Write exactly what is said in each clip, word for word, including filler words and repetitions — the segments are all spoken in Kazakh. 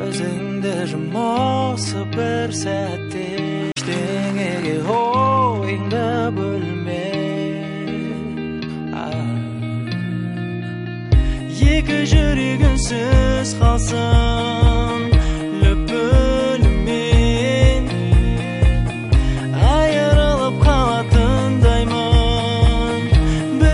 көзіңді жұмосы бір сәтте ештеңеге ойыңды бөлме. Екі жүрегінсіз қалсын лүпілімен, айырылып қалатындаймын бір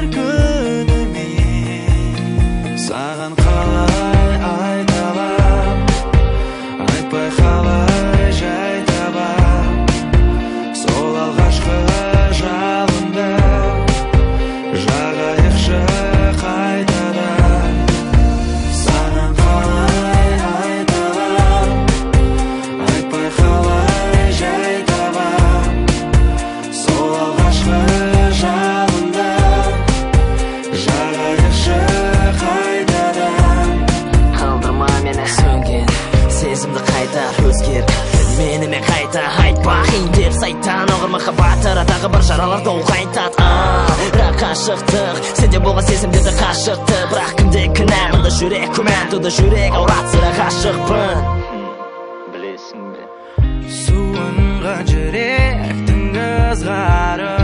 күнімен. Саған қалай айталам, айтпай қалай жай табам, сол алғашқы жалынды жағайықшы қайтадан. Саған қалай айталам, айтпай қалай жай табам, сол алғашқы жалынды жағайықшы қайтадан. Қалдырма мені сөнген сезімді қайта өзгер, менімен қайта айтпа қиын сайтан оғыр махаббатыра тағы бір жараларды ол қайтат. Бірақ қашықтық сенде болған сезімдерді қашықты, бірақ кімде кінә, мұнда жүрек күмән туды, жүрек ауратсыра ғашықпын. Білесің бе Суынған жүректің ызғары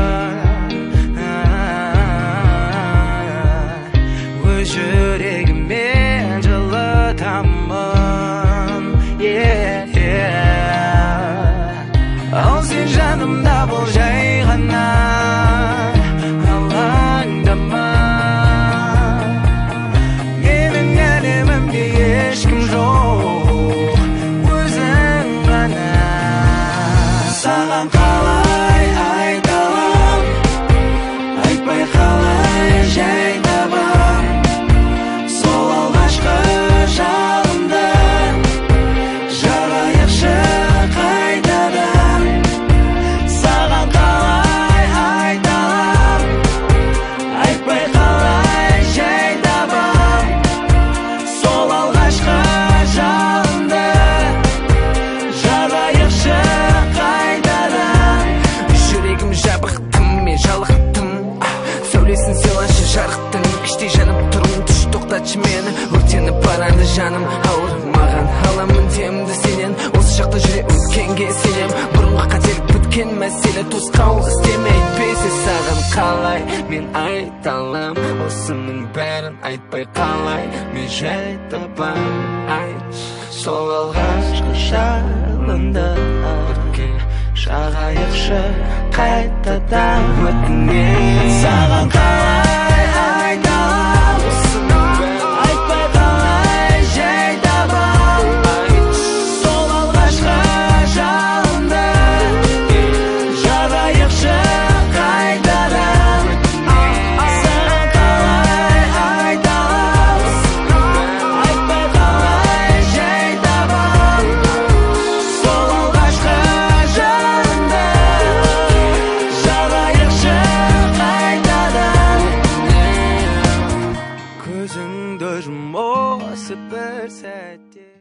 өз жүрегімен жылытамын. Ал сен жанымда бол жай ғана, алаңдама. Менің әлемімде ешкім жоқ, өзің ғана. Саған қалай айталам, айтпай қалай жай табам, сол алғашқы жалынды жағайықшы қайтадан. Саған қалай айталам, айтпай қалай жай табам, сол алғашқы жалынды жағайықшы қайтадан. Жүрегім жабық, тым мен жалықтым, сәулесін сыйлашы жарықтың, іштей жанып тұрмын, түш тоқтатшы мені, өртеніп барады жаным ауыр. Маған аламын демді сенен, осы шақта жүре өткенге сенем, бұрынғы қателік біткен мәселе, тосқауыл істеме әйтпесе. Саған қалай мен айталам, осының бәрін айтпай қалай мен жай табам. Айт, сол алғашқы жалынды бірге жағайықшы қайтадан өтінемін. Саған қалай